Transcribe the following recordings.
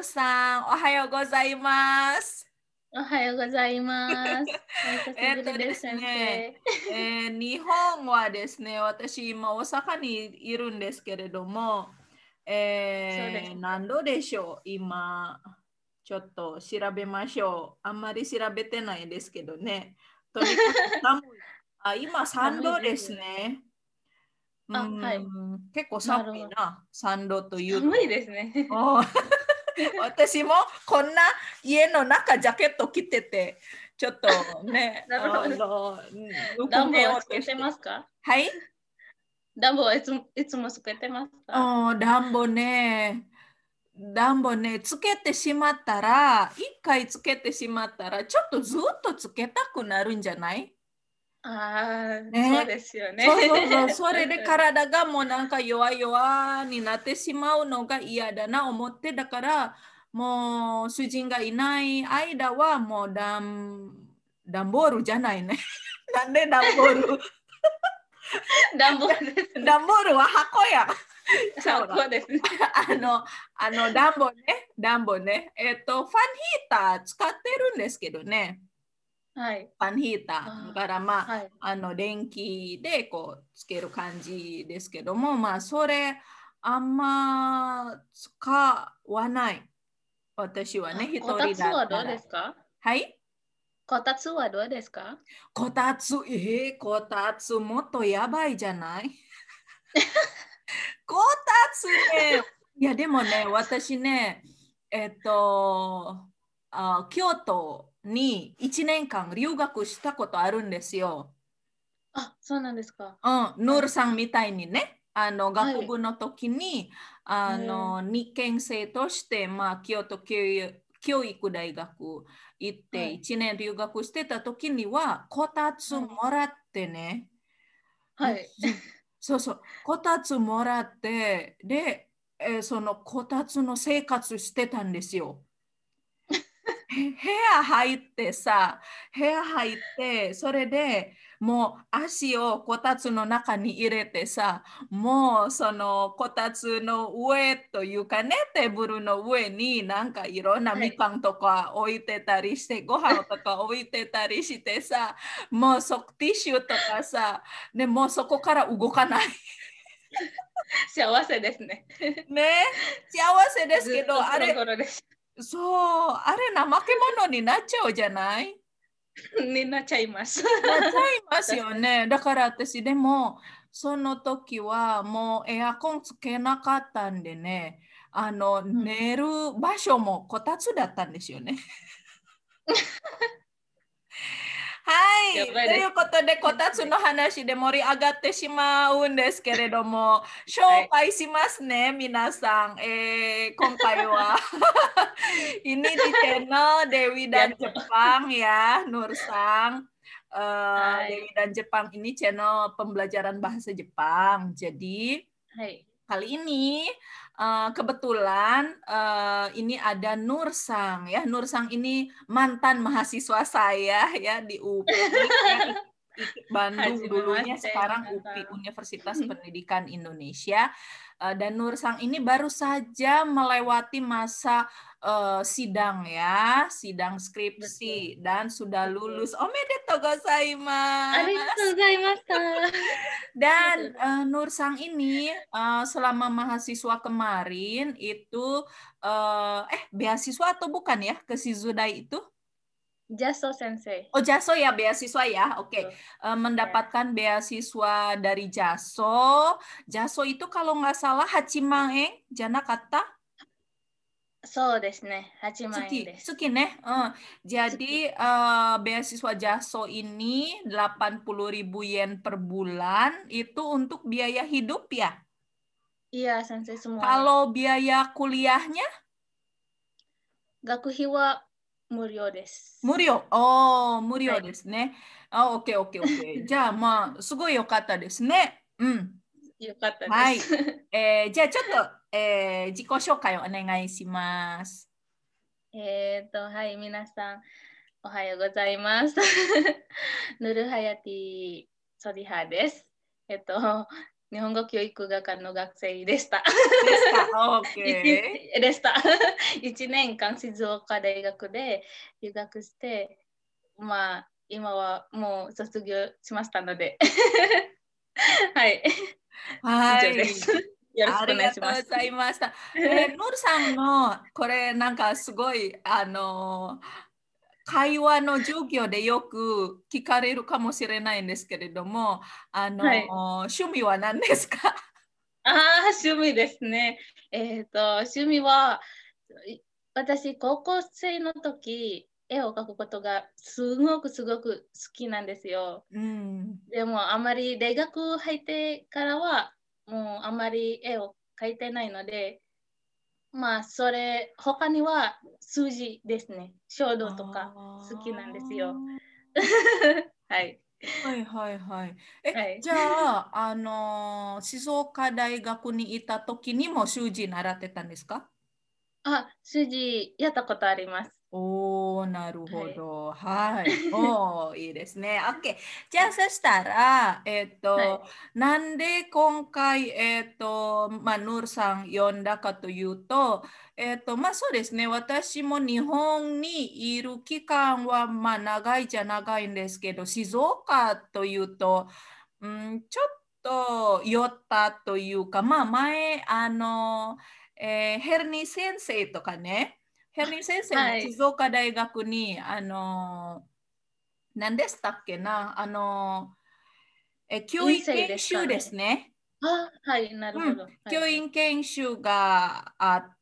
ルさん、おはようございます。 おはようございます。お久しぶりでです、 す先ね、 生。 日本はですね、私今大阪にいるんですけれども、 そうです。 何度でしょう、今、ちょっと調べましょう。あんまり調べてないですけどね。とにかく寒い。今3 寒い度ですですよね。 ね。うあ、はい。 結構寒なるほど。 いな、3度という寒いと。 ですね。 お私もこんな家の中ジャケット着てて、ちょっとね、 なるほど。 ぬく暖房めよはつけてうとして。 ますか？ はい。 暖房はいつもつけてますか？ 暖房ね、つけてしまったら、一回つけてしまったら、ちょっとずっとつけたくなるんじゃない？ ああ、そうね。 ですよね。 そうそうそう、それで確かに。 体がもうなんか弱々になってしまうのが嫌だな思って、だからもう主人がいない間はもう段ボールじゃないね。なんで段ボール？ 暖房ですね。 段ボールは箱や。ちゃうな。 箱ですね。 あの、暖房ね。ファンヒーター使ってるんですけどね。 はい。 ファンヒーター。だかあらまあ、はい。 あ、電気でこうつける感じですけども、まあ、それあんま使わない。私はね、 あ、 一こた人だつはどうでったら。 すか？ はい。 こたつはどうですか？ こたつもっとやばいじゃない？こたつね、いやでもね、私ね、えっと、京都に1年間留学したことあるんですよ。 あ、そうなんですか。 ヌールはい。 さんみたいにね、学はい。 部の時に、 えー日系生として、まあ、京都教育大学行ってはい。 1年留学してた時には、こたつもはい。 らってね、 はい。 そうそう、こたつもらって、で、そのこたつの生活してたんですよ。部屋入って、それでもう足をこたつの中に入れてさ、もうそのこたつの上というかね、テーブルの上になんかいろんなはい。 みかんとか置いてたりして、ご飯とか置いてたりしてさ、もうティッシュとかさ、でもうそこから動かない。 幸せですね。 ね、幸せですけど、 ずっとゴロゴロです。 そう、あれ怠け者になっちゃうじゃない？ になっちゃいます。 なっちゃいます確かに。 よね。だから私でもその時はもうエアコンつけなかったんでね、 うん、 寝る場所もこたつだったんですよね。はい。といやばいですうことで、こたつね。 の話で盛り上がってしまうんですけれども、 はい。 紹介しますね、皆さん。今回はini di channel Dewi やっ dan と。 Jepang ya, Nur Sang. はい。 Dewi dan Jepang ini channel pembelajaran bahasa Jepang. Jadi はい。 kali ini kebetulan ini ada Nur Sang ya. Nur Sang ini mantan mahasiswa saya ya di UPI ya, Bandung はじめま dulunya, して、 sekarang 皆さ UPI ん。 Universitas Pendidikan Indonesia. Dan Nur Sang ini baru saja melewati masa sidang ya, sidang ぶつ、 skripsi dan sudah ぶつ。 lulus. Omedetou ありがとう gozaimasu. ございました。 Dan Nur Sang ini selama mahasiswa kemarin itu beasiswa atau bukan ya ke Shizudai itu? ジャスト先生。 Oh Jaso ya beasiswa ya, oke. Ya. Mendapatkan beasiswa dari Jaso. Jaso itu kalau nggak salah Hachimaeng, Jana kata そうですね。8万円 Tsuki, です。 Tsuki nih. Jadi 月。 beasiswa Jaso ini 80.000 yen per bulan itu untuk biaya hidup ya. いや、先生、semua。 Kalau biaya kuliahnya 学費は無料です。 無料。無はい。 料ですね。オッケーオッケーオッケー。じゃあまあ、すごい良かったですね。うん。 よかったです。 はい。じゃあちょっと、自己紹介をお願いします。 はい、皆さん、おはようございます。ヌルハヤティソリハです。 日本語教育学科の学生でした。 ですか？ OK。 でした。1年間静岡大学で留学して、まあ、今はもう卒業しましたので。はい。以はい。 上です。よろしくおありがと願いします。 うございました。ノルさんのこれなんかすごい会話の授業でよく聞かれるかもしれないんですけれども、 はい。 趣味は何ですか？ ああ、趣味ですね。趣味は、私、高校生の時、絵を描くことがすごく好きなんですよ。 うん。 でも、あまり大学入ってからは、もうあまり絵を描いてないので、まあ、他には数字ですね。書道とか好きなんですよ。 あはい。 あ、はいはいはい。 はい。 じゃあ、静岡大学にいた時にも習字習ってたんですか？ あ、数字やったことあります。 おー、なるはい。 ほど。はい。おー、いいですね。OK。じゃあ、そしたら、 はい。 なんで今回、ヌールさん呼んだかというと、そうですね。私も日本にいる期間は、長いじゃ長いんですけど、静岡というと、ちょっと寄ったというか、前、ヘルニー先生とかね、ヘルニー先生もはい。 静岡大学に、何でしたっけな、教員院生ですか研修ですね。 ね。 あ、はい、なるうん、 ほど。はい。 教員研修があって、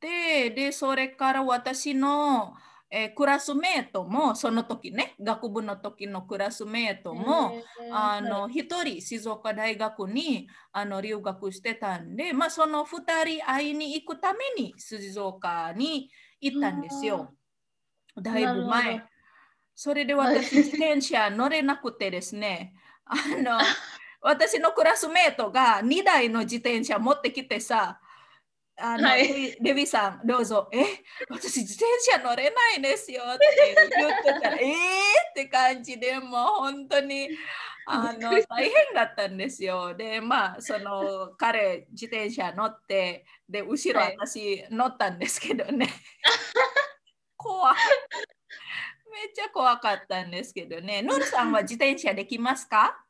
で、それから私の、クラスメートも、その時ね、学部の時のクラスメートも、 はい。 一人静岡大学に留学してたんで、その二人会いに行くために静岡に行ったんですあよ。だあ、 いなるほど。 ぶ前。それではい。 私、自転車乗れなくてですね、あの、私のクラスメートが2台の自転車持ってきてさ、 はい。 レビさん、どうぞ、私自転車乗れないですよって言ってたら、って感じでもう本当に、 びっくりし大変だったんですよ。で、その彼、自転車乗って、で、後た。 ろはい。 私乗ったんですけどね、怖い。めっちゃ怖かったんですけどね。ノルさんは自転車できますか？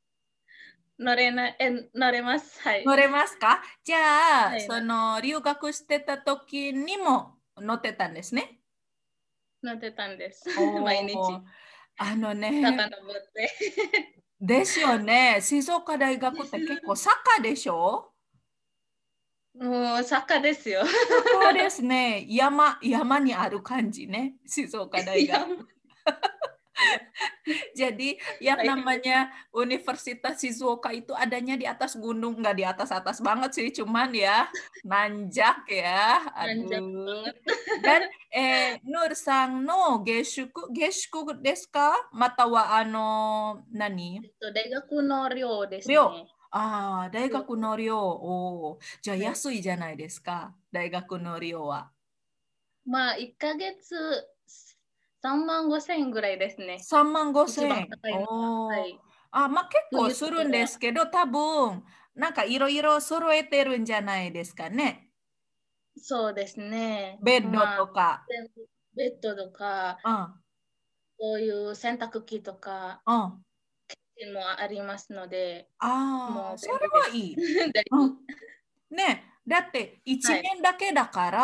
乗れます。はい。 乗れますか？じゃあ、 はい、 その留学してた時にも乗ってたんですね。 乗ってたんです。毎日、 おー、あのね、 遡って。 ですよね。静岡大学って結構坂でしょ？ もう、坂ですよ。 坂ですね。山にある感じね。静岡大学。 いや、もう Jadi yang 大変です。 namanya Universitas Shizuoka itu adanya di atas gunung, nggak di atas-atas banget sih, cuman ya nanjak ya, なんじゃ、 aduh. Dan Nur Sang no geshuku desu ka? Mata wa nani? 大学の寮です寮。 ね。 ああ、大寮学の寮。おー、じゃあはい。 安いじゃないですか、大学の寮は。 まあ、1ヶ月3万5千円ぐらいですね。 3万5 一番千円。 高いのは。はおー。 い。 結構冬するんとかは。 ですけど、多分、なんかいろいろ揃えてるんじゃないですかね。 そうですね。 ベッドまあ、 とか。 全部ベッドとか、 うん、 そういう洗濯機とかうん。 もありますので、もうああ、それ便利です。 はいい。 だいぶ。 うん。ね、だって1 はい。 年だけだから、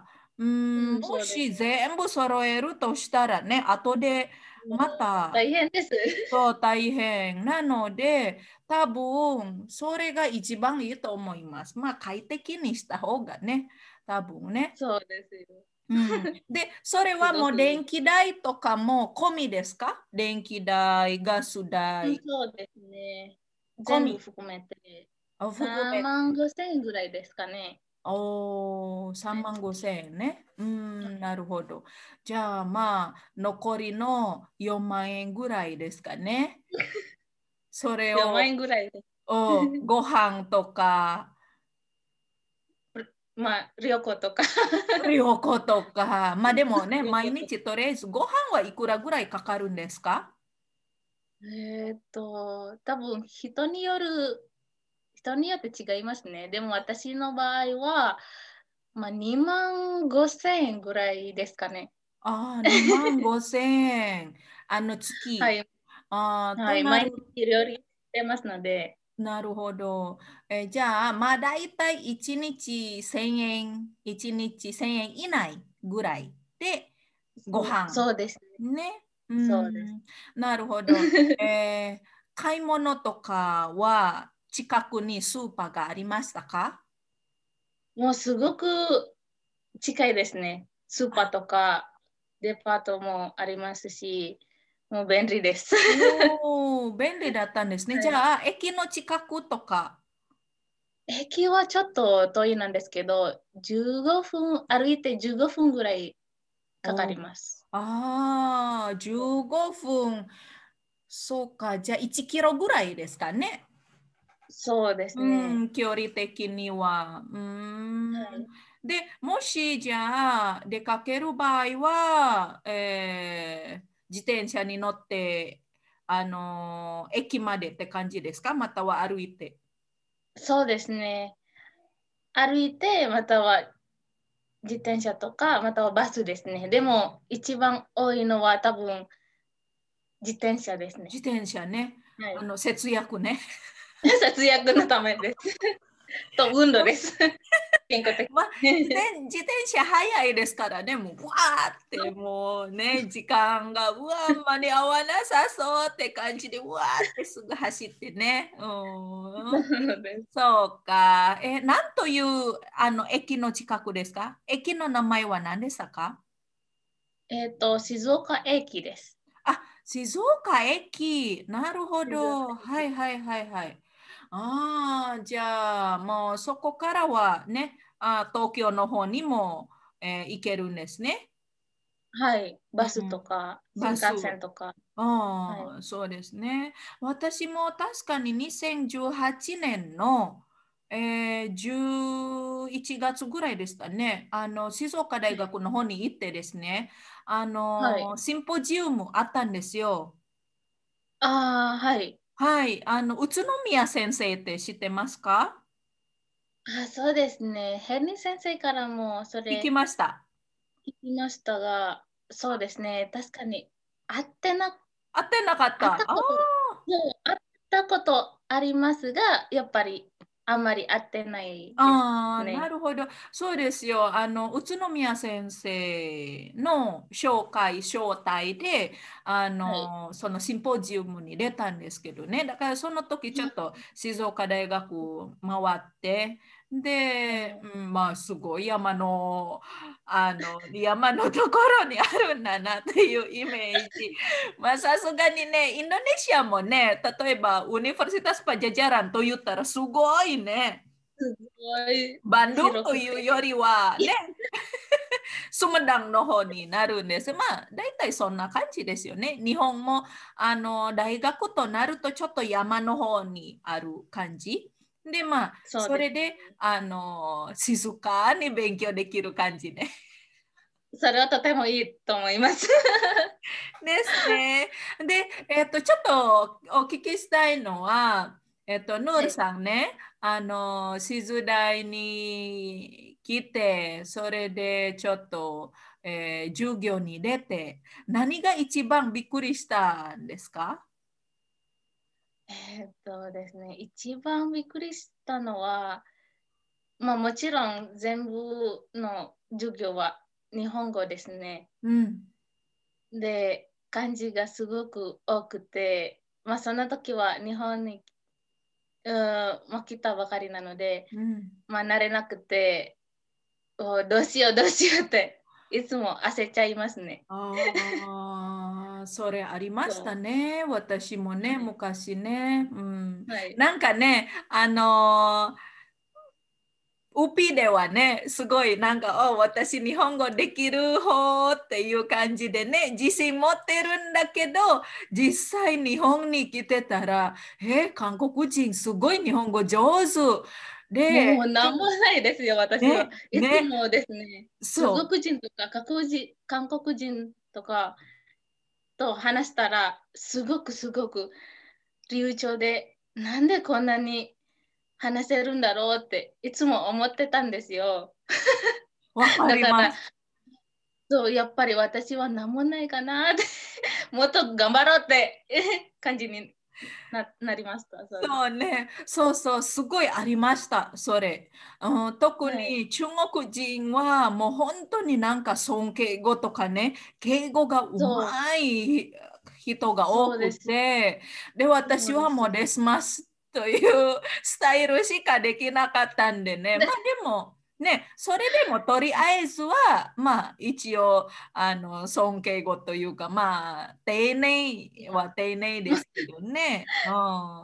うん、 もそうです。 し全部揃えるとしたらね、後でもうまた大変です。 そう大変なので、多分それが一番いいと思います。快適にした方がね、多分ね。 そうですよ。 うん、で、それすはもうごくいい。 電気代とかも込みですか？電気代、ガスうん、 代、 そうですね。全部込み、 含めて3 含め、 万5千円ぐらいですかね。 3万5千円ね。 はなるほど。じゃあ残りの4万円ぐらいですかね。それい、4万を、 円ぐらいです。 ご飯とか、 まあ、旅行とか。 旅行とか、でもね、 旅行とか。 毎日とりあえずご飯はいくらぐらいかかるんですか？ 多分人による人によって違いますね。でも私の場合は、まあ、2万5千円ぐらいですかね。 ああ、2万5千円。月。 はい。 ああ、 はい。毎日料理してますので、 なるほど。じゃあ、まあ、だいたい1日1000円、1日1000円以内ぐらいでご飯。 そうですね。 ね。うそうです。 ん。なるほど。買い物とかは近くにスーパーがありましたか？ もうすごく近いですね。スーパーとかデパートもありますし、もう便利です。 おおー、便利だったんですね。 はい、 じゃあ、駅の近くとか。 駅はちょっと遠いなんですけど、歩いて15分ぐらいかかりおー、 ます。 ああ、15分。そうか。じゃあ、1キロぐらいですかね。 そうですうね。 ん、距離的には。うーん。 はい。 で、もしじゃあ出かける場合は、自転車に乗って、駅までって感じですか？または歩いて。 そうですね。歩いて、または自転車とか、またはバスですね。でも、一番多いのは多分自転車ですね。 自転車ね。 はい。 節約ね。 節約のためです。と、運動です。健康的。 まあ、自転車早いですからね、もう、わーってもうね、時間が、うわー、間に合わなさそうって感じで、うわーってすぐ走ってね。うん。 なのでそうか。なんという駅の近くですか？駅の名前は何でしたか？ 静岡駅です。 あ、静岡駅。なるほ静岡ど。は駅。 いはいはいはい。ああ、じゃあもうそこからはね、東京の方にも、行けるんですね。 はい。バスとうん。 か、新バス。 幹線とか。はい。 ああ、そうですね。私も確かに2018年の、11月ぐらいでしたね。静岡大学の方に行ってですね、 はい。 シンポジウムあったんですよ。 ああ、はい。 はい。宇都宮先生って知ってますか？ あ、そうですね。ヘンリー先生からもそ聞きれました。 聞きましたが、そうですね。確かに、会ってな、 会ってなかった。あ会ったこと、もう会ったことありますが、やっぱりあんまり会ってないですああ、なね。 るほど。そうですよ。宇都宮先生の招待で、 はい。 そのシンポジウムに出たんですけどね。だからその時ちょっと静岡大学回って、で、 うん、 うん、まあ、すごい山のところにあるんだなっていうイメージ。まあ、さすがにね、インドネシアもね、例えば、ウニバーシタスパジャジャランと言ったらすごいね。 すごいバンドゥンと広くて。 いうよりはね、スムダンの方になるんです。まあ、大体そんな感じですよね。日本も、大学となるとちょっと山の方にある感じ。で、まあ、 そうです。 それで、静かに勉強できる感じね。 それはとてもいいと思います。 ですね。で、ちょっとお聞きしたいのは、ヌールはい。 さんね、静大に来て、それでちょっと、授業に出て、何が一番びっくりしたんですか？ ですね、一番びっくりしたのは、まあもちろん全部の授業は日本語ですね。 うん、 で、漢字がすごく多くて、まあその時は日本に、まあ、来たばかりなので、 うん。 まあ慣れなくて、どうしようどうしようっていつも焦っちゃいますね。 ああ、それありましたそう。 ね。私もね、 はい。 昔ね。うん。 はい。 なんかね、ウピではね、すごいなんか、私日本語できる方っていう感じでね、自信持ってるんだけど、実際日本に来てたら、韓国人すごい日本語上手で、 もうなんもないですよ、私は。 ね、 いつね、 もですね、中そ国人とか韓国人とかと話したら、すごくすごく流暢で、なんでこんなに話せるんだろうっていつも思ってたんですよ。 わかだからります。 そうやっぱり私は何もないかなってもっと頑張ろうって感じになりました。そうです。 そうね、そうそう、すごいありました、それ。特はい。 に中国人はもう本当になんか尊敬語とかね、敬語がうそう、 まい人が多くそうです。 て、で、 そうです。 私はもうレスマスというスタイルしかできなかったんでね、まあでも、ね、それでもとりあえずは、まあ一応、尊敬語というか、まあ、丁寧は丁寧ですけどね。うん。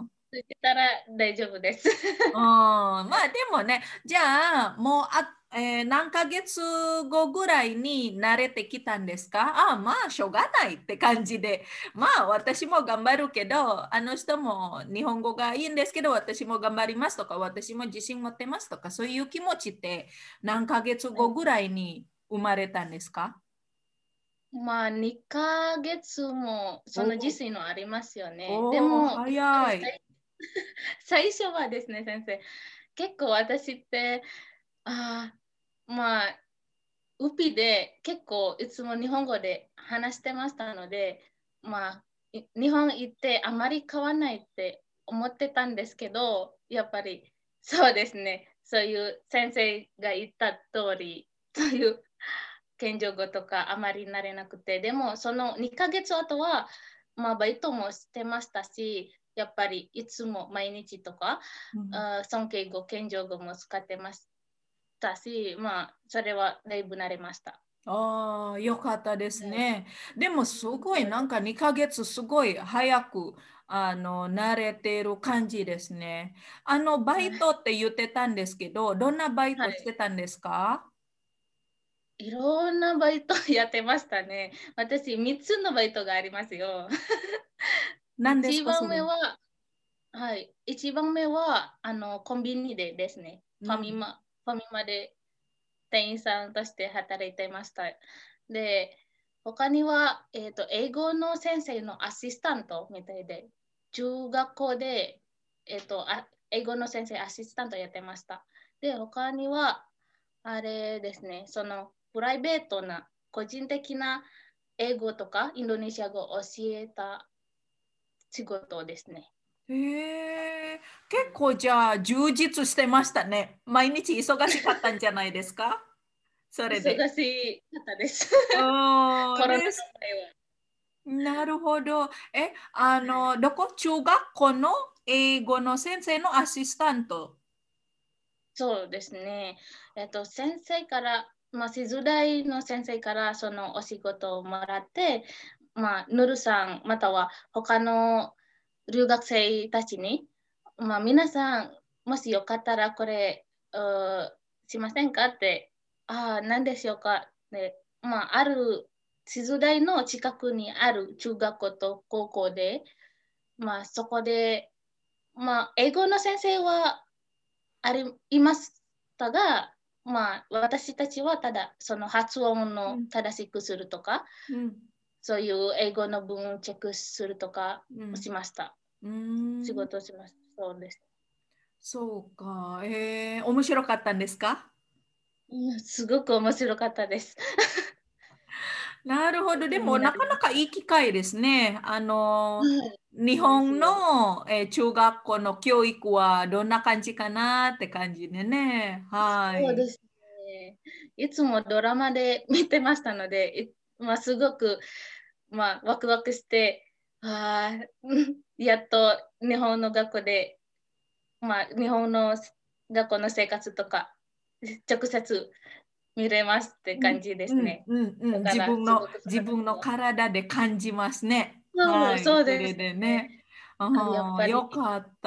ついてたら大丈夫です。 うん、まあでもね、じゃあもう何ヶ月後ぐらいに慣れてきたんですか？まあしょうがないって感じで、まあ私も頑張るけど、あの人も日本語がいいんですけど、私も頑張りますとか、私も自信持ってますとか、そういう気持ちって何ヶ月はい、 後ぐらいに生まれたんですか？ まあ、2ヶ月もその自お炊のありますよね。でおー、 も、やっぱり早い。 最初はですね、先生、結構私って、まあ、ウピで結構いつも日本語で話してましたので、まあ、日本行ってあまり変わらないって思ってたんですけど、やっぱりそうですね、そういう先生が言った通り、そういう謙譲語とかあまり慣れなくて、でもその2ヶ月後は、まあ、バイトもしてましたし、やっぱりいつも毎日とか、 うん。 尊敬語、謙譲語も使ってましたし、まあ、それはだいぶ慣れました。 ああ、よかったですはい、 ね。でもすごいそうです。 なんか2ヶ月すごい早く慣れている感じですね。バイトって言ってたんですけど、どんなバイトしはい。 てたんですか？ いろんなバイトやってましたね。私、3つのバイトがありますよ。1 何ですか、そ番れ？ 目は、はい、一番目はコンビニでですね、 うん。 ファミマで店員さんとして働いてました。で、他には、英語の先生のアシスタントみたいで、中学校で、英語の先生アシスタントやってました。で、他には、あれですね、そのプライベートな個人的な英語とかインドネシア語を教えた仕事ですね。 へえ、結構じゃあ充実してましたね。毎日忙しかったんじゃないですか？それで。 忙しかったです。 うん、 コロナのです。 前は。 なるほど。中学校の英語の先生のアシスタント？ そうですね。先生から、まあ、シズ大の先生からそのお仕事をもらって、まあ、ヌルさん、または他の留学生たちに、まあ、皆さん、もしよかったらこれ、しませんかって、何でしょうか。で、まあ、ある、シズ大の近くにある中学校と高校で、まあ、そこで、まあ、英語の先生はいましたが、まあ、私たちはただその発音のうん、 正しくするとか、 うん、 そういう英語の文をチェックするとかうん。 しました。 うー仕ん、 事をしました。そうです。 そうか。面白かったんですか？ うん、すごく面白かったです。 なるほど。 勉強になでもなかなかりました。 いい機会ですね。 はい、 日そうです本よ。 の、中学校の教育はどんな感じかなって感じでね。はい。 そうですね。いつもドラマで見てましたので、まあ、すごく、まあ、ワクワクして、やっと日本の学校で、まあ、日本の学校の生活とか直接見れますってうん感じでうんすね。 うんうん。 だからすごく自分の楽しかった。 体で感じますね。 そう、 はい。 そうですそれでね。 ね。 やっぱりよかった。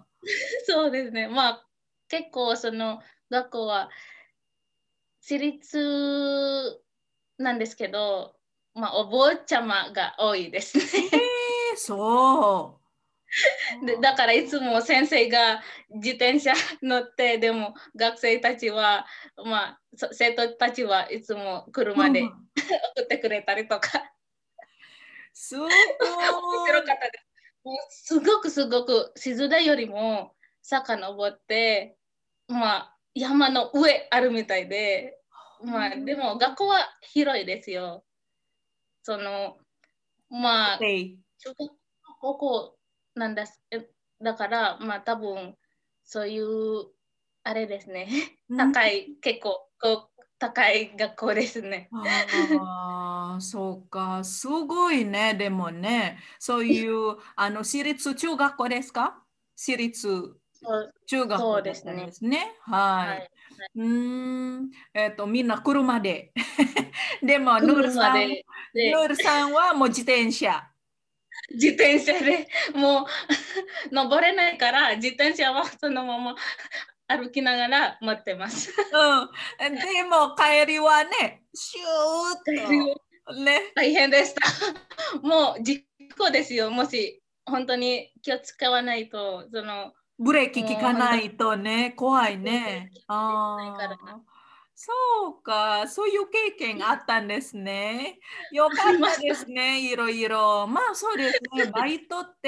そうですね。まあ結構その学校は私立なんですけど、まあお坊ちゃまが多いですね。 そう。 だからいつも先生が自転車乗って、でも学生たちは、まあ、生徒たちはいつも車で車。 送ってくれたりとか、 す面白ごい。 かったです。もうすごくすごく、静大よりも坂登って、まあ、山の上あるみたいで、まあ、でも学校は広いですよ。その、まあ、中学高校なんだだから、まあ多分そういうあれですね。高い、結構高い学校ですね。 ああ、そうか。すごいね。でもね、そういう私立中学校ですか？私立中学そう校だったんですね。 ですね。はい。 はい。 みんな車で。でも、 車でヌールさんはもう自転車。 自転車でもう登れないから自転車はそのまま歩きながら待ってます。 うん。でも、帰りはね、シューッと。ね。 大変でした。もう事故ですよ。もし本当に気を使わないと、 ブレーキ効かなもう本当にいとね、怖いでね。 きないから。 ああ、そうか、そういう経験があったんですね。よかありったました。 ですね、いろいろ。まあそうですね、バイトって、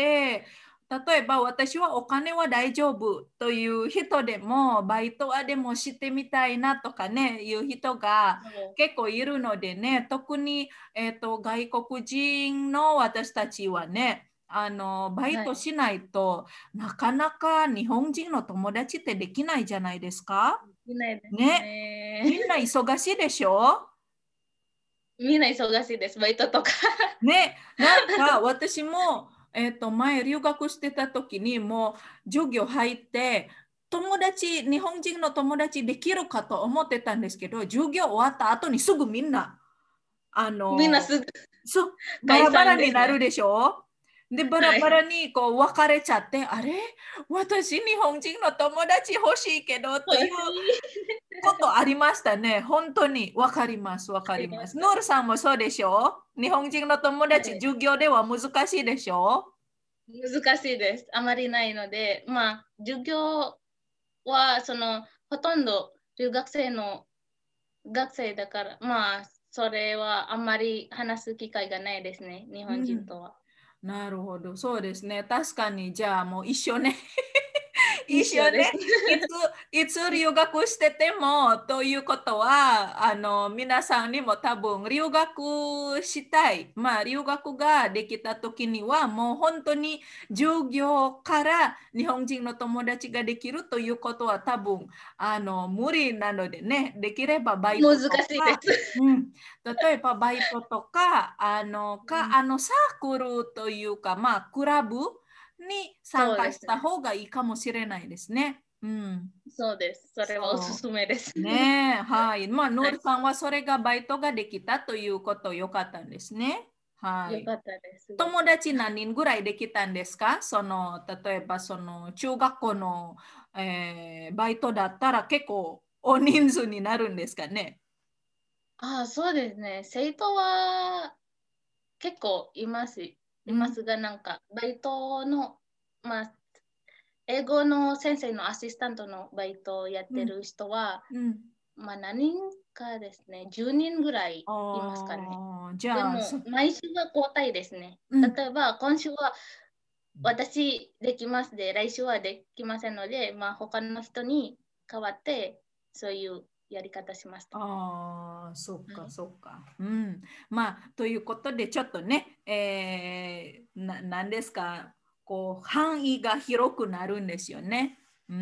例えば私はお金は大丈夫という人でも、バイトはでもしてみたいなとかね、いう人が結構いるのでね、特に、外国人の私たちはね、バイはい。 トしないとなかなか日本人の友達ってできないじゃないですか。 いないですね。 ね。 みんな忙しいでしょ？ みんな忙しいです、バイトとか。 ね。なんか私も、前留学してた時にもう授業入って友達、日本人の友達できるかと思ってたんですけど、授業終わった後にすぐみんな、あの、 みんなすぐバ解ラバラに散ですね。 なるでしょ？で、バラバラはい。 にこう別れちゃって、あれ私、日本人の友達欲しいけどという欲しい。 ことありましたね。本当に。わかります。わかあります。 りました。 ノールさんもそうでしょ？日本人の友達、 はい。 授業では難しいでしょ？ 難しいです。あまりないので、まあ、授業は、ほとんど留学生の学生だから、まあ、それはあんまり話す機会がないですね、日本人うん。 とは。 なるほど。そうですね。確かに、じゃあもう一緒ね。一緒ね。 一緒です。 いつ留学しててもということは、皆さんにも多分留学したい。まあ、留学ができた時には、もう本当に授業から日本人の友達ができるということは多分、無理なのでね、できればバイト難とか、 しいです。 うん、例えばバイトとか、 うんサークルというか、まあ、クラブに参加したそうですね。 方がいいかもしれないですね。うん。 そうです。それはおすそすめです。 う。ねえ、はい。まあ、ノはい。 ールさんはそれがバイトができたということよかったんですね。はい。 よかったです。すごく。 友達何人ぐらいできたんですか？例えば中学校の、バイトだったら結構大人数になるんですかね。 ああ、そうですね。生徒は結構います。いうん、 ますが、バイトの、まあ、英語の先生のアシスタントのバイトをやっうん、 てる人は、 うん。 まあ、何人かですね、10人ぐらいいますかね。 ああ、じゃあ、 でも、毎週は交代ですね。 うん。 例えば、今週は私できますで、来週はできませんので、まあ、他の人に代わって、そういうやり方しました。 ああ、そっか、 はい、 そっか。うん。まあ、ということで、ちょっとね、なんですか、こう、範囲が広くなるんですよね。うん。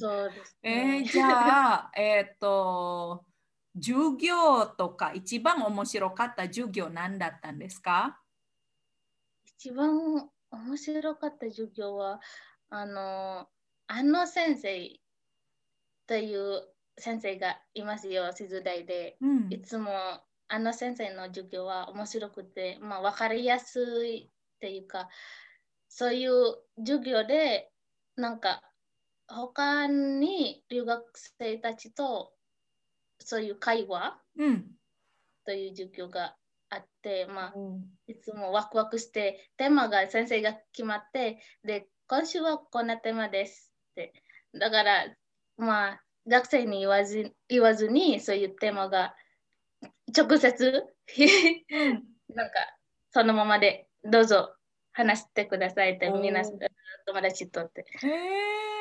そうですね。 じゃあ、授業とか、一番面白かった授業何だったんですか？ 一番面白かった授業は、先生という先生がいますよ、静大で。 うん。 いつも先生の授業は面白くて、まあ、分かりやすいっていうか、そういう授業で、他に留学生たちとそういう会話うん。 という授業があって、まあ、 おいつもワクワクして、テーマが先生が決まって、で、今週はこんなテーマですって。だから、まあ、学生に言わずに、そういうテーマが直接うん。 なんか、そのままでどうぞ話してくださいって、皆さん、 お友達とって。 へえ。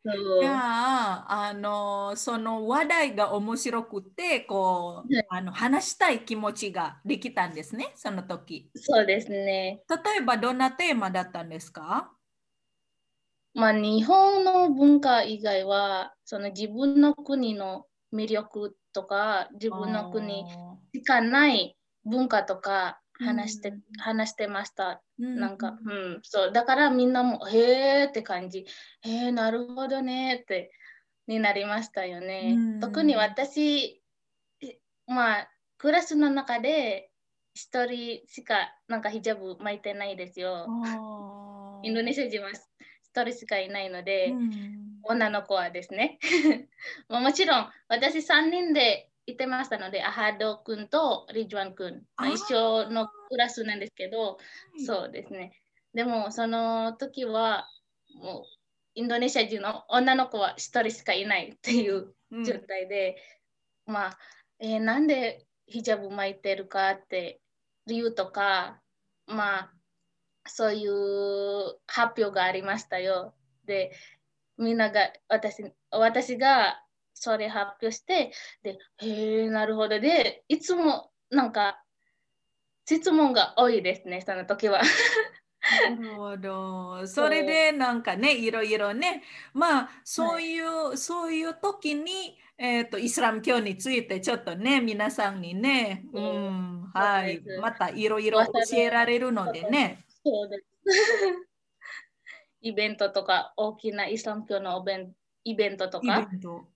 じゃそう。 あ、その話題が面白くて、こう、 はい、 話したい気持ちができたんですね、その時。 そうですね。 例えば、どんなテーマだったんですか？ まあ、日本の文化以外は、その自分の国の魅力とか、自分の国あしかない文化とかーうん、 話してました。 うん、 なんか、うん、そう。だからみんなも、へーって感じ。へー、なるほどねって、になりましたようね。特にん。 私、まあ、クラスの中で一人しかなんかヒジャブ巻いてないですあよ。インドネーシア人は一人しかいないのうで、 ん。 女の子はですね。もちろん、私3人でいてましたので、アハド君とリジュアン君、 あまあ、一緒あ、 のクラスなんですけど、 はい。 そうですね。でも、その時は、もう、インドネシア人の女の子は一人しかいないってうん、 いう状うん、 態で、まあ、なんでヒジャブ巻いてるかって理由とか、まあ、そういう発表がありましたよ。で、みんなが、私がそれ発表して、で、へえ、なるほど。で、いつもなんか質問が多いですね、その時は。 なるほど。それそでなんかね、いろいろね、まあ、 う、はい。 そういう時に、イスラム教についてちょっとね、皆さんにね、うそうん、 そうはい、 です。 またいろいろ噂教えられるののことも、 でね。 そうです。イベントとか、大きなイスラム教のイベントとイベか、 ント。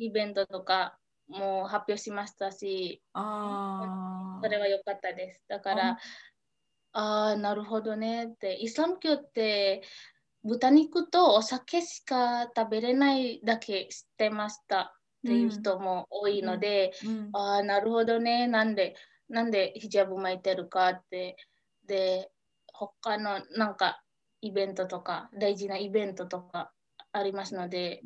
も発表しましたし、それあは良かったです。だかあ、 ら、ああ、なるほどねって、イスラム教って豚肉とお酒しか食べれないだけ知ってましたっていううん、 人も多いうん、 ので、 うん、 ああ、なるほどね、なんでヒジャブ巻いてるかって、で、他のなんかイベントとか、大事なイベントとかありますので、 うん。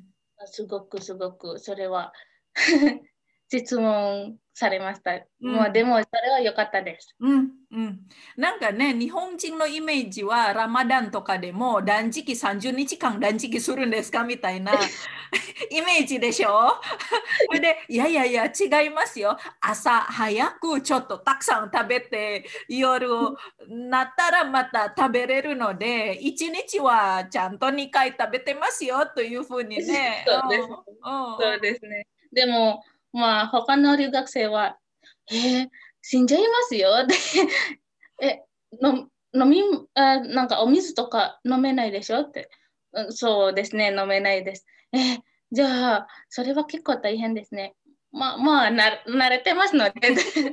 すごくそれは質問されました。まあ、でうんもそれは良かったです。 うん、うん。なんかね、日本人のイメージは、ラマダンとかでも断食30日間断食するんですかみたいなイメージでしょ？それで、いやいやいや、違いますよ。朝早くちょっとたくさん食べて、夜なったらまた食べれるので、1日はちゃんと2回食べてますよというふうにね。 そうですね。 うん、うん、うん。 そうですね。でも、まあ、他の留学生は、死んじゃいますよってえ、の飲み、なんかお水とか飲めないでしょって。そうですね、飲めないです。じゃあ、それは結構大変ですね。慣れてますので。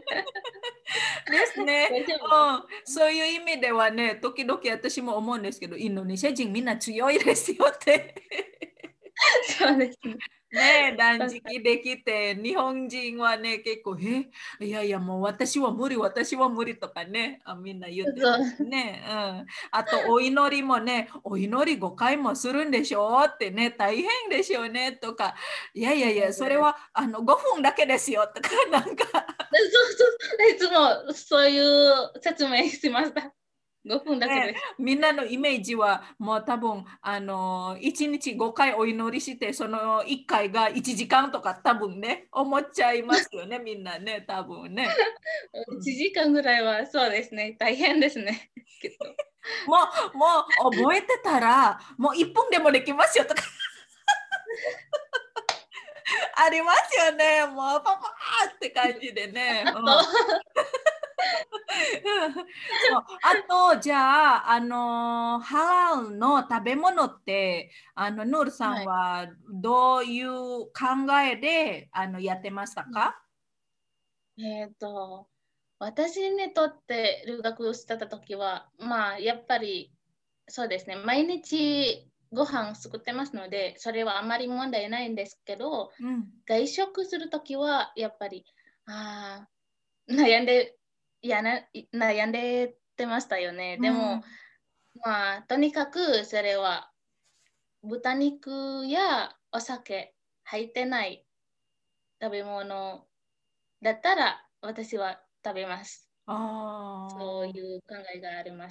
ですね。 大丈夫です。 うん、そういう意味ではね、時々私も思うんですけど、インドネシア人みんな強いですよって。 そうですね。 ねえ、断わか食できて、日本人はね、結構、いやいや、もう私は無理、私は無理とかね、みんな言ってますそう、 ね。うん。あと、お祈りもね、お祈り5回もするんでしょってね、大変でしょうねとか、いやいやいや、それは5分だけですよとか、なんかいつもそういう説明しました。5分だけね、 です。 みんなのイメージはもう多分1日5回お祈りしてその1回が1時間とか多分ね思っちゃいますよねみんなね多分ね、う 1 ん、 時間ぐらいはそうですね。大変ですね。きっと。 もう覚えてたらもう1分でもできますよとかありますよねもうパパーって感じでね、うん、そうあとじゃあ、ハラルの食べ物ってヌールさんはい。 はどういう考えでやってましたか？ えっと、私にとって留学してた時は、まあ、やっぱり、そうですね、毎日ご飯作ってますので、それはあまり問題ないんですけど、 うん、 外食する時は、やっぱり、あ悩んで、悩んでてましたよね。 うでも、 ん、 まあ、とにかくそれは豚肉やお酒入ってない食べ物だったら私は食べます。そうああ、 いう考えがあります。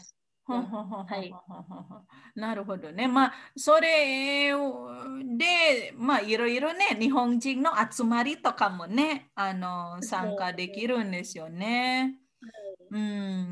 ほんほんほんほんほんはい。 ほんほんほん。なるほどね。まあ、それで、まあ、いろいろね、日本人の集まりとかもね、参加できそう。 るんですよね。 はうん、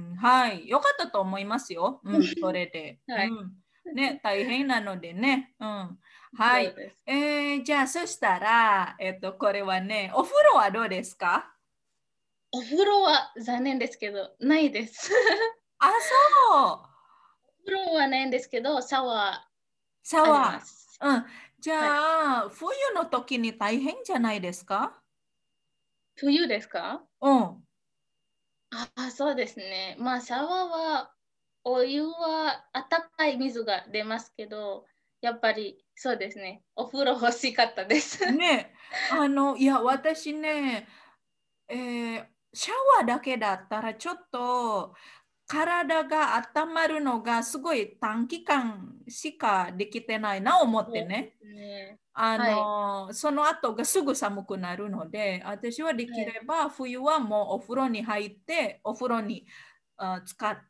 はい。よかったと思いますよ。うん、そい。 れで。 はい。 うん。ね、大変なのでね。うん。はい。 そうです。 じゃあ、そしたら、これはね、お風呂はどうですか？ お風呂は残念ですけど、ないです。 あ、そう。 お風呂はないんですけど、シャワシャーありまワす。 ー。うん。じはい。 ゃあ、冬の時に大変じゃないですか？ 冬ですか？ うん。 あ、そうですね。まあ、シャワーは、お湯は温かい水が出ますけど、やっぱりそうですね。お風呂欲しかったです。 ね、いや、私ね、シャワーだけだったらちょっと体が温まるのがすごい短期間しかできてないな思ってそうでね。 すね。はい。 その後がすぐ寒くなるので、私はできはい。 れば冬はもうお風呂に入って、お風呂に使って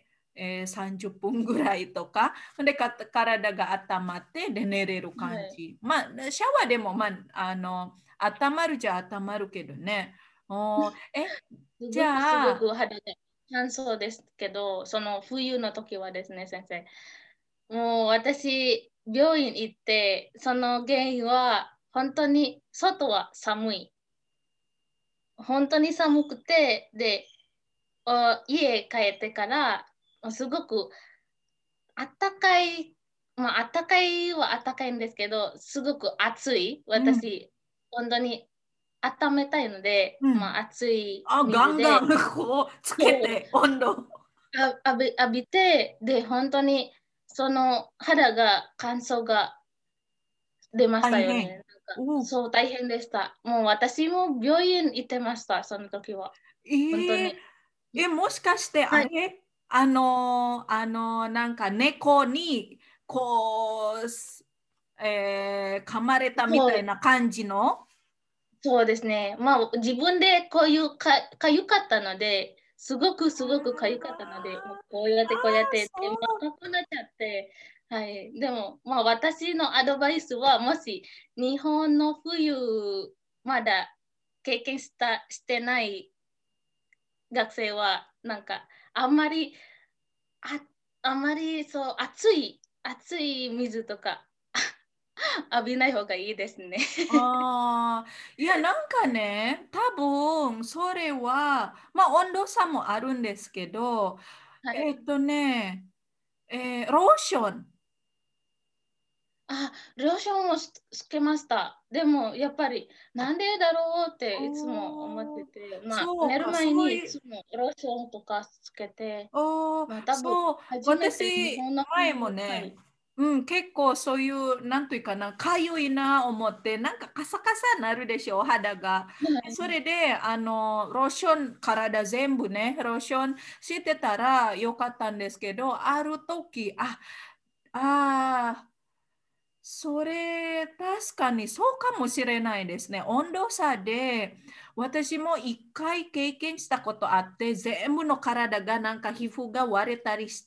、30分ぐらいとか、で体が温まってで寝れるはい。 感じ。まあ、シャワーでも、まあ、温まるじゃ温まるけどね。じすごくすごゃあ、 く肌が乾燥ですけど、その冬の時はですね、先生。もう私、病院行って、その原因は、本当に外は寒い。本当に寒くて、で、家帰ってから、すごくあったかい、まあ、あったかいはあったかいんですけど、すごく暑い。 うん、 私、本当に温めたいので、 うん。 まあ、熱いあ、ガンガン水で、 こうつけそうて温度。 浴びて、で、本当にその肌が乾燥が出ましたよね。 大変。 なんかおそう、大変でした。もう私も病院行ってました、その時は。本当えーに。 もしかしてはい。 あれなんか猫にこう、噛まれたみそう、 たいな感じの。 そうですね。まあ、自分でこういうかゆかったので、すごくすごくかゆかったので、もうこうやってこうやって、で、 そう。 赤くなっちゃって、はい。でも、まあ、私のアドバイスは、もし日本の冬、まだ経験してない学生は、なんか、あんまり、あ、あんまりそう、熱い水とか浴びない方がいいですね。 ああ、いや、なんかね、多分それは、まあ温度差もあるんですけど、 はい。 えっとね、ローション。 あ、ローションをつけました。でも、やっぱり、なんでだろうっていつも思っておー、 て、まあ、寝るそうか、 前にいそういう、 つもローションとかつけて、 おー、 まあ、多分、 そう、 初めて日私、 本の前も冬、はね、 い。 うん、結構そういう、なんというかな、かゆいな思って、なんかカサカサなるでしょ、肌が。それで、ローション、体全部ね、ローションしてたらよかったんですけど、ある時、あそれ、確かにそうかもしれないですね。温度差で、私も一回経験したことあって、全部の体がなんか皮膚が割れたりして、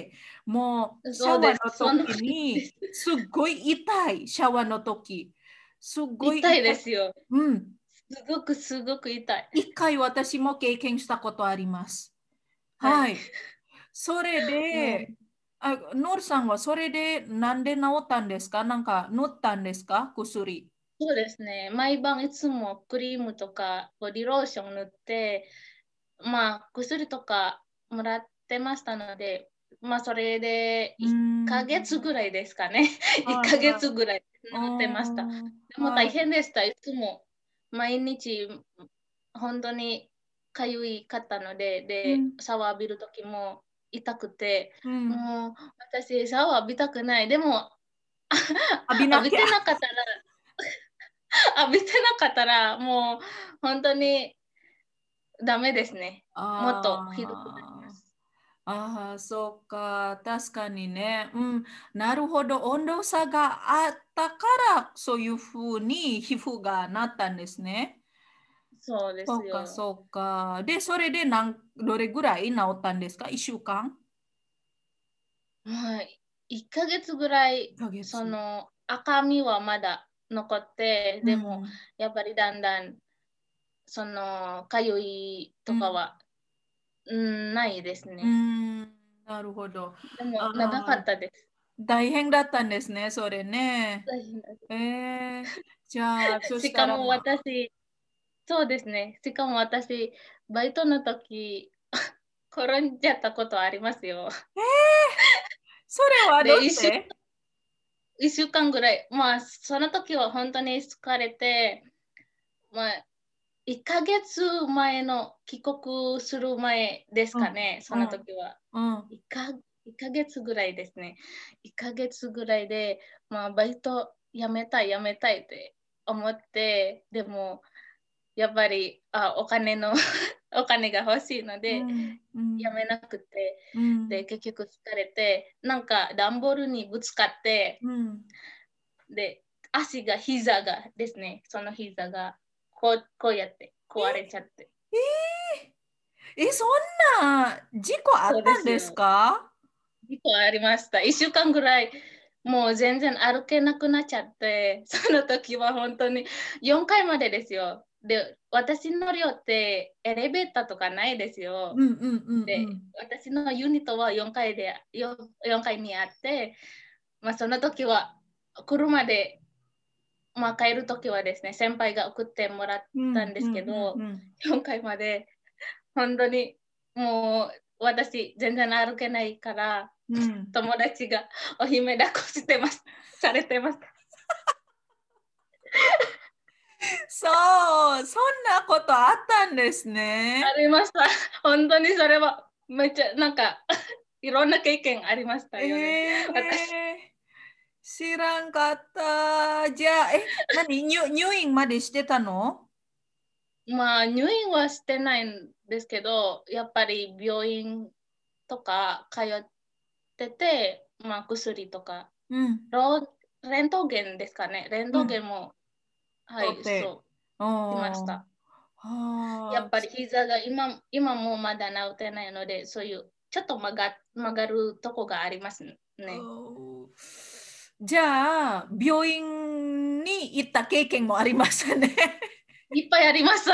もうシャワーそうです。 の時その時でに、 す。 すっごい痛い、シャワーの時。すっごい痛いで痛い。 すよ。 うん。 すごくすごく痛い。 一回私も経験したことあります。 はい。 はい。それもう、 で、ノールさんはそれでなんで治ったんですか？なんか塗ったんですか？薬。 そうですね。毎晩いつもクリームとかボディローション塗って、まあ、薬とかもらってましたので、まあ、それでうー 1ヶ月ん。 ぐらいですかね。1 はいヶはい。 月ぐらいう乗ってました。 ーん。 でも大はい。 変でした。いつも毎日本当にかゆいかったので、で、 うん。 シャワー浴びるときも痛くて、 うん。 もう私シャワー浴びたくない。でも浴びなきゃ。 浴びてなかったら、浴びてなかったらもう本当にダメですね。もっとひどくなりまあす。 そうか。確かにね。うん。なるほど。温度差があったから、そういうふうに皮膚がなったんですね。 そうでそうか、 すよ。 そうか。で、それでどれぐらい治ったんですか？ 1週間？ まあ、1ヶ月ぐらい、 1ヶ月。 その赤みはまだ残って、でも、やっぱりだんだん、その、かゆいとかは、ないですね。 なるほど。 でも、長かああ、 ったです。 大変だったんですね、それね。 大変だじゃあ、そしたら、 しかも私、そうですね。しかも私、バイトの時、転んじゃったことありますよ。 それはどうで、 して？ 一週間ぐらい、まあ、その時は本当に疲れて、まあ、1ヶ月前の帰国する前ですうん、 かね、そのうん、 時は。 うん。 1ヶ月ぐらいですね。1ヶ月ぐらいで、まあ、バイトやめたいって思って、でも、やっぱりお金のお金が欲しいので、 うん、うん、 やめなくて、 うん、 で、結局疲れて、なんか段ボールにぶつかって、 うん。 で、膝がですね、その膝がこうやって壊れちゃって。 そんな事故あっそうでたんですすよ。 か？ 事故ありました。1週間ぐらい、もう全然歩けなくなっちゃって、その時は本当に4階までですよ。で、私の寮ってエレベーターとかないですよ。 うんうんうんうで、 ん。 私のユニットは4階にあって、まあ、その時は車で、まあ、帰る時はですね、先輩が送ってもらったんですうんうんけど、 うん 4階まで本当にもう私全然歩けないから、 うん。うん。 友達がお姫抱っこしてます、されてます。 そう、そんなことあったんですね。 ありました。本当にそれはめっちゃなんかいろんな経験ありましたよね。 え私ー、知らんかった。じゃあ、入院までしてたの？ まあ入院はしてないんですけど、やっぱり病院とか通ってて、まあ薬とか、 うん。 レントゲンですかね。レントゲうん。 ンも、はい、 とって。 そう、しましおー。 た。やはあ。 っぱり膝が今もまだ治ってないので、そういうちょっと曲がるとこがありますね。 おー。じゃあ、病院に行った経験もありましたね。 いっぱいあります。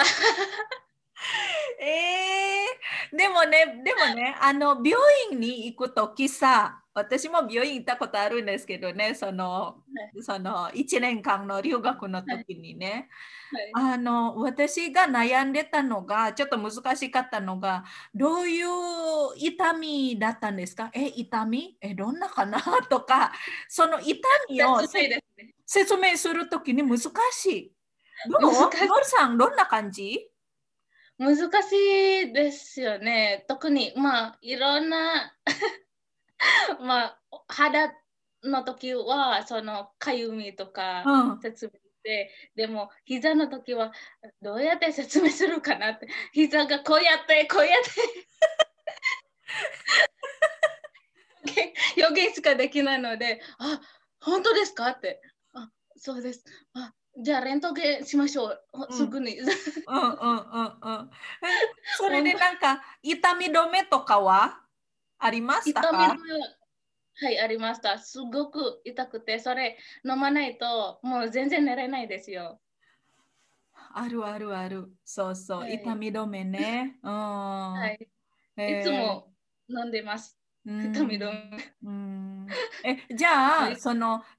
でもね、病院に行くときさ、私も病院行ったことあるんですけどね、その1年間の留学のはい、 時にね、 はい、 私が悩んでたのが、ちょっと難しかったのが、どういう痛みだったんですか？痛みどんなかなとか、その痛みを切ないですね。 説明するときに難しい。どう難しノルさん、どんな感じ？ 難しいですよね。特にまあいろんなまあ肌の時はそのかゆみとかうん。 説明して、でも膝の時はどうやって説明するかなって、膝がこうやって表現しかできないので、本当ですかって、そうです。じゃあレントゲンしましょう。 うん。 すぐに。 うんうんうんうん。それで本当なんか痛み止めとかはありました痛み止か？ めは、はい、ありました。すごく痛くて、それ飲まないともう全然寝れないですよ。 あるあるある。そうそう。 はい。 痛み止めね。うん。 はい。いつえも飲んでます。 う痛み止ん。 め。 うん。じゃあ、 はい、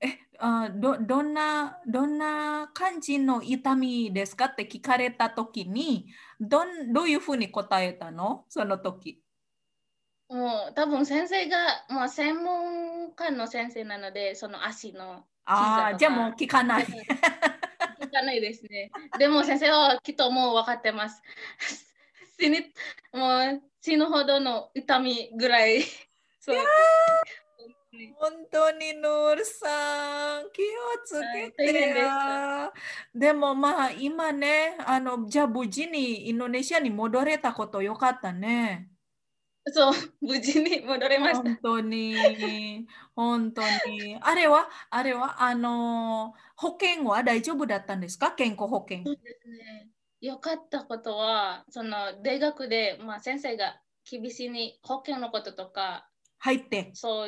どんな感じの痛みですかって聞かれたときに、どういうふうに答えたのその時？ もう多分先生が、もう専門家の先生なので、その足の膝ああー、じゃあもうとか。 聞かない。 だから聞かないですね。でも先生はきっともう分かってます。死に、もう死ぬほどの痛みぐらい。 いやそう。 ー、本当にノールさん、気をつはい、大けて変でした。 や。でもまあ今ね、じゃあ無事にインドネシアに戻れたことよかったね。 そう、無事に戻れました。 本当に、本当に。あれは、保険は大丈夫だったんですか？健康保険。 そうですね。よかったことは、その大学で、まあ、先生が厳しいに保険のこととか、 入って。 そういう、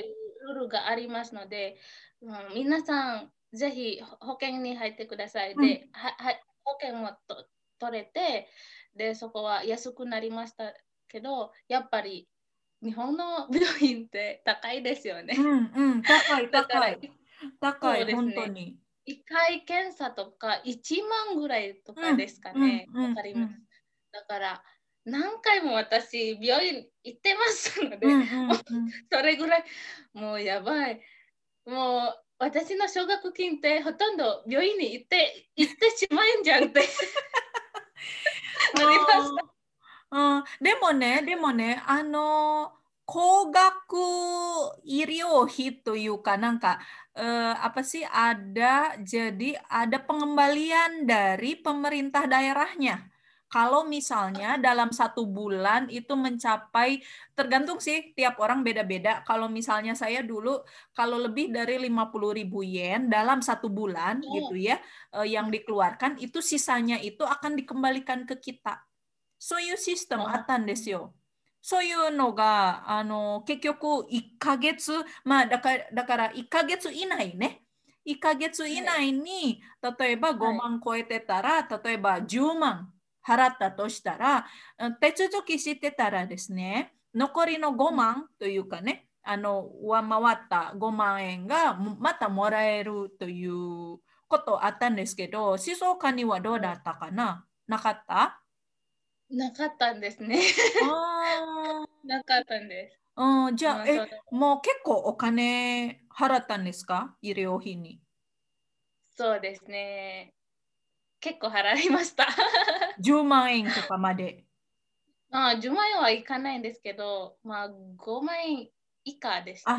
ルールがありますので、皆さん、ぜひ保険に入ってください。 うんで、保険も取れて、で、そこは安くなりましたけど、やっぱり日本の病院って高いですよね。 うんうん、高いだから、 高い。高い、 そうですね。 本当に。 1回検査とか1万ぐらいとうんかですかうんね。 うんわかります。 うんだから、何回も私、病院行ってますので、 うんうもうんうん。 それぐらい、もうやばい。もう私の奨学金ってほとんど病院に行ってしまうんじゃんってなりました。 でもね、高額医療費というか、なんか, apa sih, jadi ada pengembalian dari pemerintah daerahnya. Kalau misalnya dalam 1 bulan itu mencapai, tergantung sih, tiap orang beda-beda. Kalau misalnya saya dulu, kalau lebih dari 50.000 yen dalam 1 bulan gitu Oh, ya, yang dikeluarkan, itu sisanya itu akan dikembalikan ke kita. そういうシステムあったんですよ。そういうのが、結局1ヶ月、まあだから1ヶ月以内ね。1ヶ月以はい、 内に、例えばはい、 5万超えてたら、例えば10万払ったとしたら、手続きしてたらですね、残りの5万というかね、上回った5万円がまたもらえるということあったんですけど、静岡にはどうだったかな、なかった？ なかったんですね。 あなかったんです。 あ、じゃあ、 まあ、 もう結構お金払ったんですか？医療費に。 そうですね。結構払いました。 10万円とかまで。 まあ、10万円はいかないんですけど、まあ、5万円以下でした。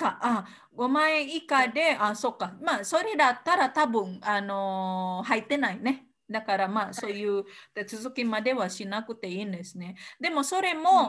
5万円以下で、そっか。まあ、それだったら多分、入ってないね。だからまあ、そういう手続きまではしなくていいんですね。でも、それも、 うん、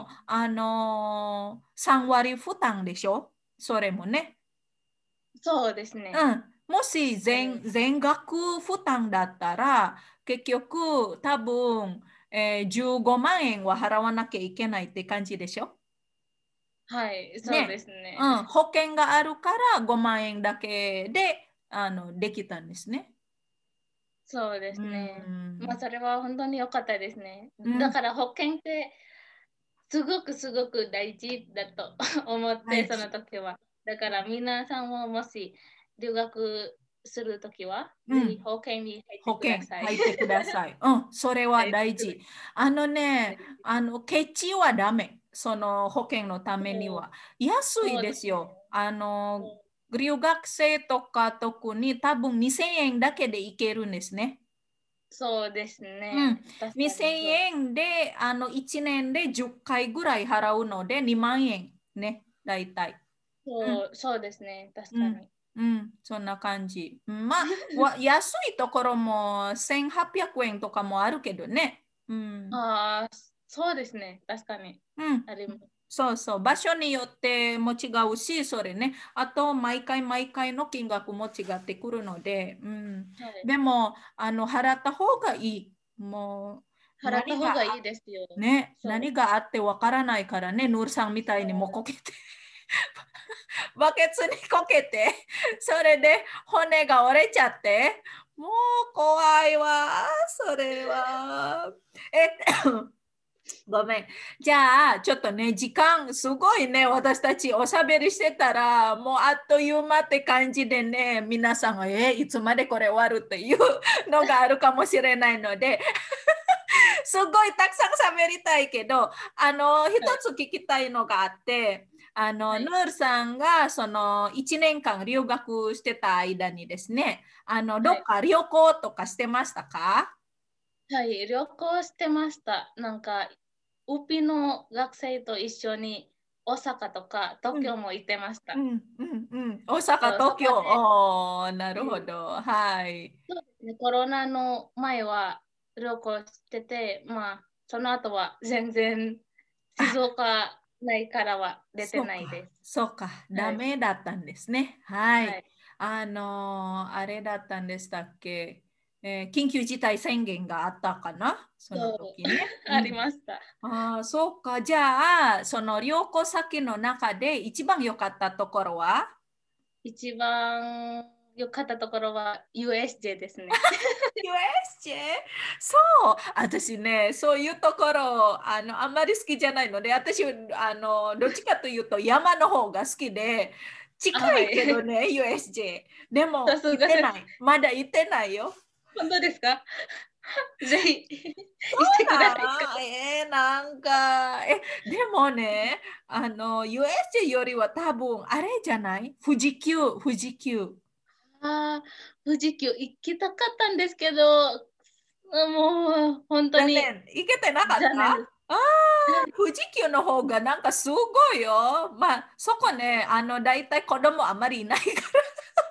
3割負担でしょ？それもね。 そうですね。 うん。もし全額負担だったら、結局多分、15万円は払わなきゃいけないって感じでしょ？ はい、そうでね。 すね。 うん。保険があるから5万円だけで、できたんですね。 そうでうすね。まあ、 ん。 それは本当に良かったですね。 うん。 だから保険ってすごくすごく大事だと思って、その大事。 時は。だから皆さんももし留学するときは、ぜひうん。 保険に入って保険ください。 入ってください。うん。それははい、 大事。あのね、ケチはダメ。その保険のためにそうは。安いそうですね。 ですよ。留学生とか特に多分2000円だけでいけるんですね。 そうですうん。 ね。確かに 2000 そう。 円で、1年で10回ぐらい払うので2万円ね、大体。うん。 そうですね。確うん。 かに。 うん。そんな感じ。まあ、安いところも1800円とかもあるけどね。うん。 ああ、そうですね。確かに。 うん。 あります。 そうそう。場所によっても違うし、それね。あと、毎回毎回の金額も違ってくるので、うん。 はい。 でも、払った方がいい。もう、 払った方がいいですよ。そ何があってわからないからね、ヌールさんみたいにもこけて、バケツにこけて、それで骨が折れちゃって、もう怖いわ、それは。ごめん。じゃあ、ちょっとね、時間、すごいね、私たちおしゃべりしてたら、もうあっという間って感じでね、皆さんが、いつまでこれ終わるっていうのがあるかもしれないので、すごいたくさん喋りたいけど、一う。はい。 つ聞きたいのがあって、 はい。 ヌールさんがその1年間留学してた間にですね、どはい。 っか旅行とかしてましたか？ はい、旅行してました。ウピの学生と一緒に大阪とか東うん、 京も行ってました。 うん、うん、うん。大阪、 そう、そ東京。 こで、 なるうん、 ほど。はい。 そうですね、コロナの前は旅行してて、まあ、その後は全然静あ、 岡内からは出てそうか、 ないです。 そうか。ダはい。 メだったんですね。はい。 はい。 あれだったんでしたっけ。 緊急事態宣言があったかな、その時ね。 ありました。 ああ、そうか。じゃあ、その旅行先の中で一番良かったところは？ 一番良かったところは USJ ですね。 USJ？ そう、私ね、そういうところあんまり好きじゃないので、私どっちかというと山の方が好きで、近はいけどい。 ね、USJ。でさもすがです。 行ってない。まだ行ってないよ。 本当ですか？ぜひそう行ってください。 なんなんか、でもね、USJ よりは多分、あれじゃない富士急、富士急。 ああ、富士急行きたかったんですけど、もう本当に残念。行けてなかった？ 残念です。 ああー、富士急の方がなんかすごいよ。まあ、そこね、だいたい子供あまりいないから。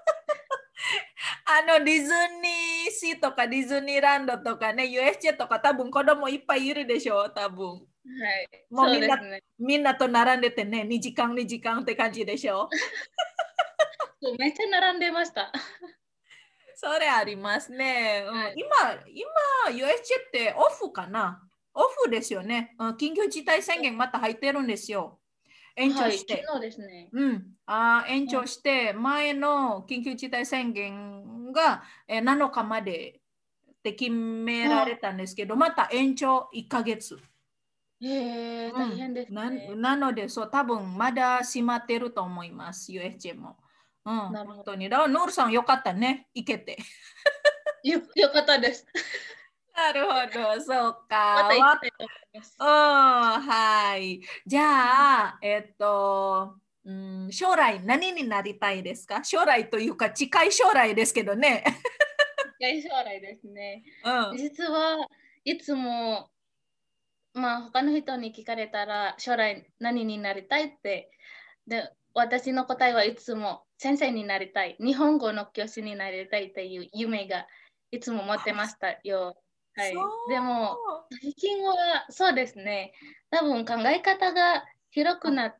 ディズニーシーとかディズニーランドとかね、USJ とか多分子供いっぱいいるでしょ、多分。 はい、 もうみんな、 そうですね。 みんなと並んでてね、2時間、2時間って感じでしょ。 そうめっちゃ並んでました。 それありますね。 はい、 今、USJ ってオフかな？オフですよね。緊急事態宣言また入ってるんですよ。延はい、 長して。 昨日ですね。 延うん、 長して、前の緊急事態宣言が7日までって決められあ、 たんですけど、また延長1ヶ月。 大変ですね。 なので、そう、多分まだ閉まってると思います、USJ も。本なるほど。 当に。だから、ノールさんよかったね、行けて。 よかったです。 なるほど、そうか。 また行きたいと思います。 はい。じゃあ、将来何になりたいですか？将来というか、近い将来ですけどね。 近い将来ですね。 うん。 実はいつも、まあ、他の人に聞かれたら将来何になりたいってで私の答えはいつも先生になりたい、日本語の教師になりたいっていう夢がいつも持ってましたよ。はそい、でもう。 最近はそうですね、多分考え方が広くなって、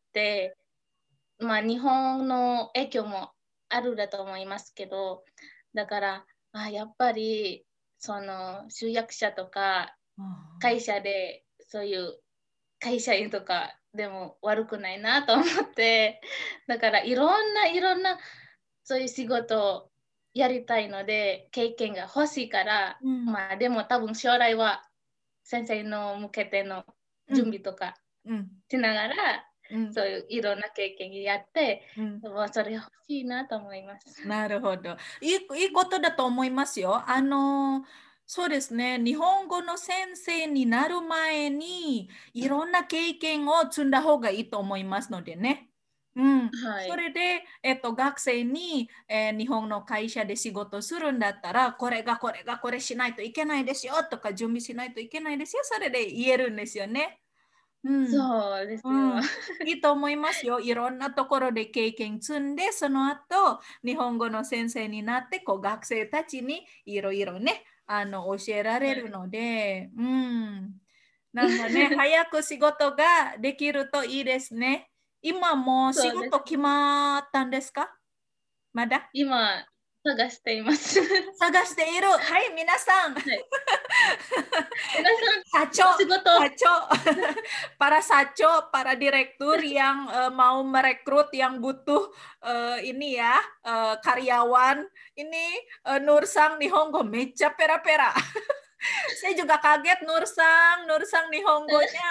まあ、日本の影響もあるだと思いますけど、だから、やっぱりその集約者とか会社でそういう会社員とかでも悪くないなと思って、だからいろんなそういう仕事をやりたいので経験が欲しいから、 うん。 まあでも多分将来は先生の向けての準うん。 備とかうん。 しながら、 うん。 そういういろんな経験やって、 うん。 まあそれ欲しいなと思います。 なるほど。いいことだと思いますよ。そうですね。日本語の先生になる前に、いろんな経験を積んだ方がいいと思いますのでね。 はい。 それで、学生に、日本の会社で仕事するんだったら、これしないといけないですよとか、準備しないといけないですよ。それで言えるんですよね。うん。 そうですよ。 いいと思いますよ。いろんなところで経験積んで、その後、日本語の先生になって、学生たちにいろいろね、教えられるので、なんかね、早く仕事ができるといいですね。今もう仕そうです。 事決まったんですか？まだ今探しています。は探している。はい、皆さん。 い。皆さん、 Saco, お仕事、 Saco, para Saco, para direktur yang mau merekrut, yang butuh ini ya karyawan, ini Nursang Nihongo mecha pera-pera. Saya juga kaget Nursang Nihongonya,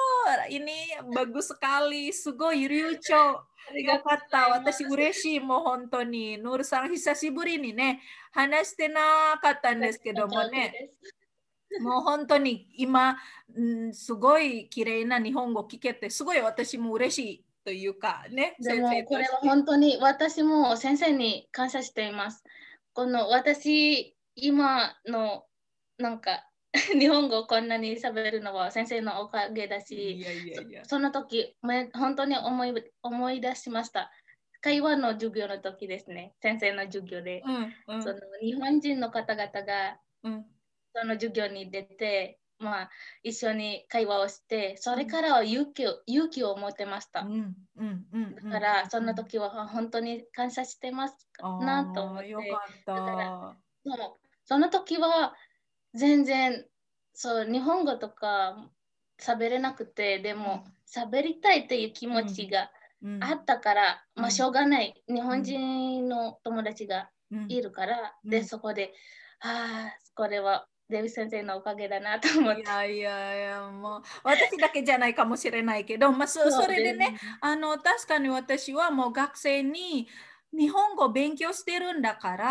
ini bagus sekali, sugoi ryucho. ありがとうござ Yokata, いま私す。 嬉しい、もう本当に。ヌールさん、久しぶりにね、話してなかったんですけども本当ね。 です。 もう本当に今、すごい綺麗な日本語聞けて、すごい私も嬉しいというかね、 で先生もこれはとして。 本当に私も先生に感謝しています。この私、今のなんか日本語をこんなに喋るのは先生のおかげだし、 いやいやいや。 その時本当に思い出しました。会話の授業の時ですね、先生の授業で。 うんうそのん日本人の方々がうんその授業に出て、まあ、一緒に会話をして、それうんからは勇気を持ってました。 うんうんうんだうんから、そうん。 の時は本当に感謝してますなとああ、よか思って、 っだから、 た。 そうその時は全然そう日本語とか喋れなくて、でも喋りたいという気持ちがあったから、まあしょうがない。日本人の友達がいるから、で、そこで、これはデビ先生のおかげだなと思って。 いやいやいや、もう私だけじゃないかもしれないけど、まあ、それでね、確かに私はもう学生に日本語を勉強してるんだから、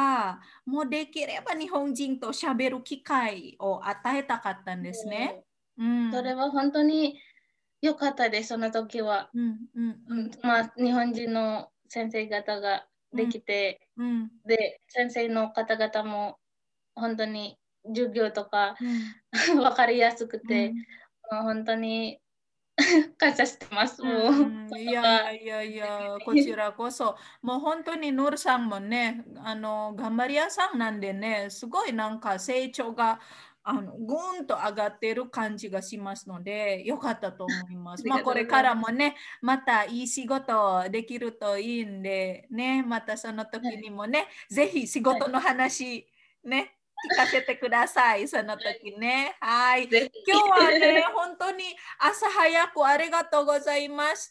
もうできれば日本人と喋る機会を与えたかったんですね。 それは本当に良かったです、その時は。まあ、日本人の先生方ができて、で、先生の方々も本当に授業とか、分かりやすくて、もう本当に感謝してます。もう、 いやいやいやいや、こちらこそ、もう本当にノールさんもね、頑張り屋さんなんでね、すごいなんか成長がぐーんと上がっている感じがしますので、よかったと思います。まあこれからもね、またいい仕事できるといいんで、ね、またその時にもね、ぜひ仕事の話、ね、聞かせてください、その時ね。はい。今日はね、本当に朝早くありがとうございました。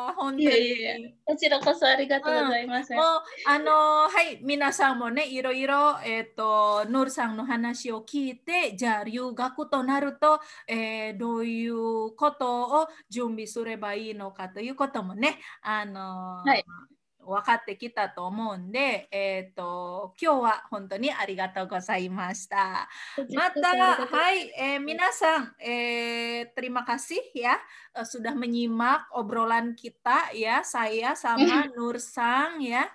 本当に。 こちらこそありがとうございます。 もう、はい、皆さんもね、いろいろ、ノルさんの話を聞いて、じゃあ留学となると、どういうことを準備すればいいのかということもね、分かってきたと思うんで、今日は本当にありがとうございました。また、はい、皆さん、terima kasih ya sudah menyimak obrolan kita ya, saya sama Nur Sang ya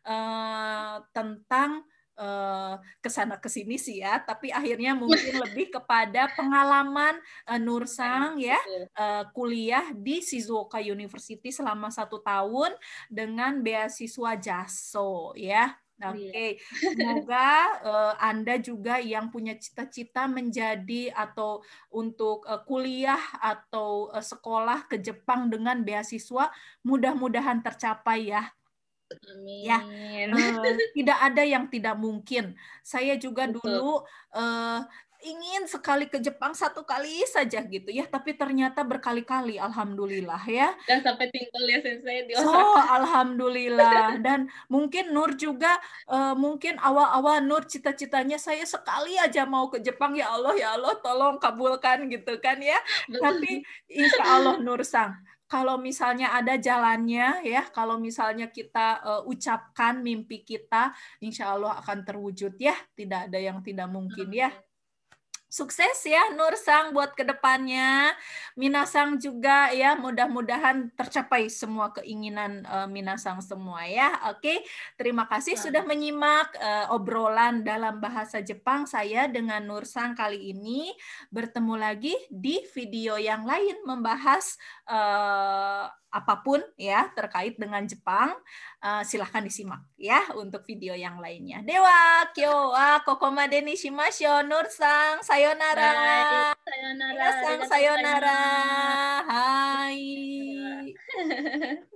tentang kesana kesini sih ya, tapi akhirnya mungkin lebih kepada pengalaman Nur Sang ya kuliah di Shizuoka University selama 1 tahun dengan beasiswa JASO ya. Oke, semoga Anda juga yang punya cita-cita menjadi atau untuk kuliah atau sekolah ke Jepang dengan beasiswa mudah-mudahan tercapai ya. Amin. Ya, tidak ada yang tidak mungkin. Saya juga dulu ingin sekali ke Jepang 1 kali saja gitu ya, tapi ternyata berkali-kali, alhamdulillah ya. Dan sampai tinggal ya Sensei di Osaka. Alhamdulillah. Dan mungkin Nur juga, mungkin awal-awal Nur cita-citanya saya sekali aja mau ke Jepang, ya Allah tolong kabulkan gitu kan ya. Tapi insya Allah Nur Sang, kalau misalnya ada jalannya ya, kalau misalnya kita ucapkan mimpi kita, insya Allah akan terwujud ya, tidak ada yang tidak mungkin ya. Sukses ya Nur Sang buat kedepannya. Minasang juga ya, mudah-mudahan tercapai semua keinginan Minasang semua ya. Oke, terima kasih sudah menyimak obrolan dalam bahasa Jepang saya dengan Nur Sang kali ini. Bertemu lagi di video yang lain membahas apapun ya terkait dengan Jepang. Silahkan disimak ya untuk video yang lainnya. Dewa, kyo wa kokomade ni shimashou. Nur Sang, sayonara. Sayonara. Minasang, sayonara. Hai.